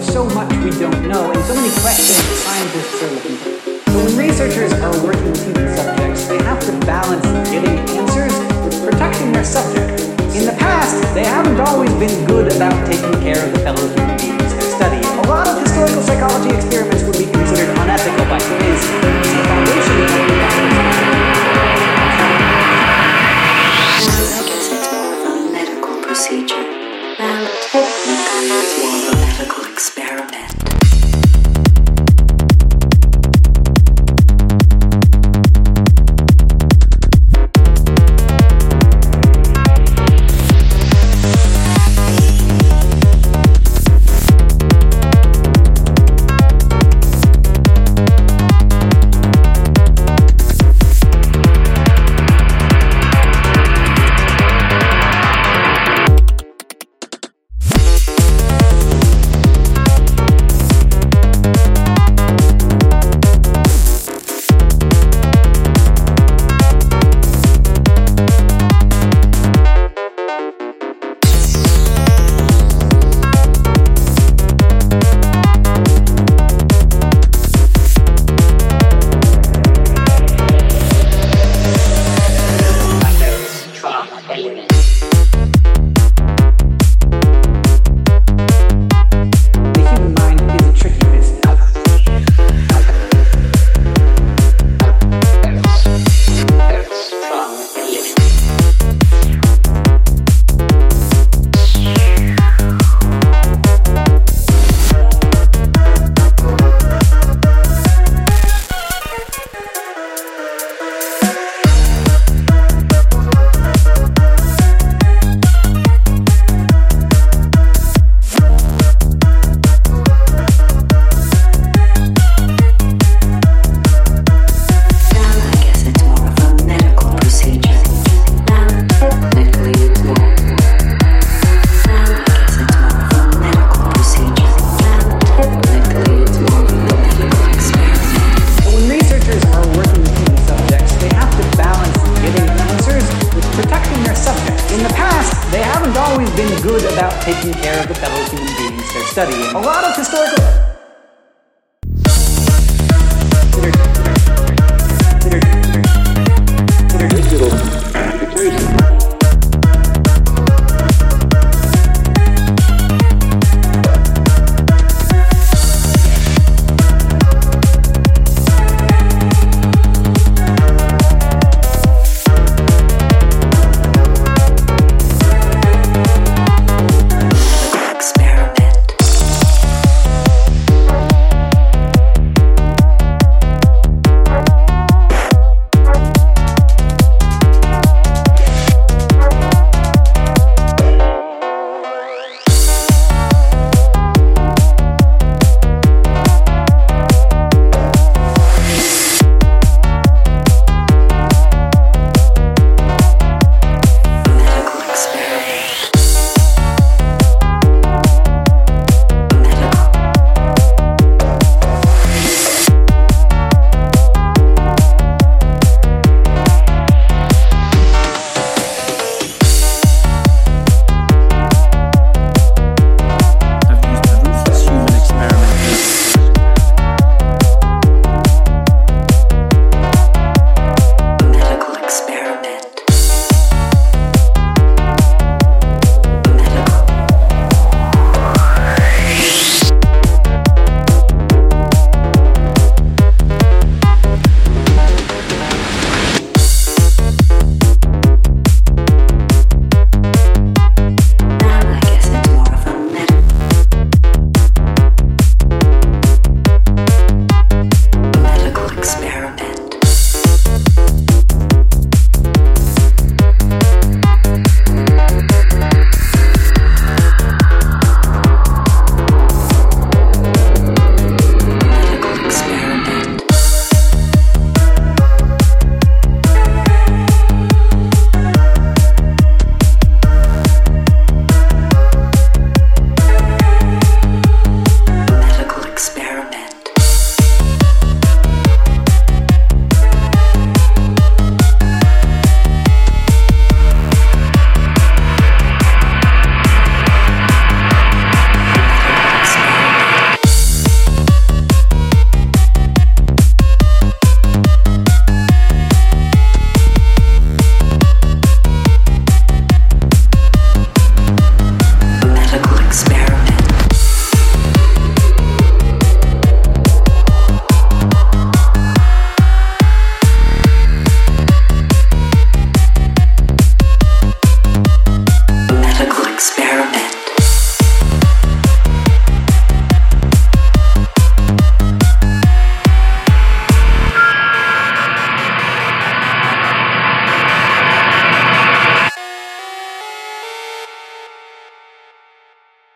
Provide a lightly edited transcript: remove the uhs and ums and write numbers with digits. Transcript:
so much we don't know, and so many questions scientists are looking for. So when researchers are working with human subjects, they have to balance getting answers with protecting their subject. In the past, they haven't always been good about taking care of the fellow human beings they're studying. A lot of historical psychology experiments would be considered unethical by today's standards. The foundation of what we have I guess it's more of a medical procedure. Now, technically, it's more of a medical experiment. In the past, they haven't always been good about taking care of the fellow human beings they're studying. A lot of historical